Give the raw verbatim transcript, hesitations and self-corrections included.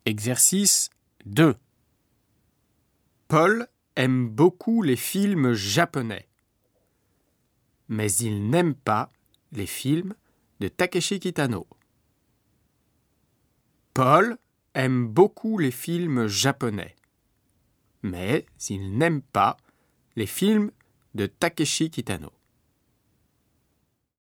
Exercice deux. Paul aime beaucoup les films japonais, mais il n'aime pas les films de Takeshi Kitano. Paul aime beaucoup les films japonais, mais il n'aime pas les films de Takeshi Kitano.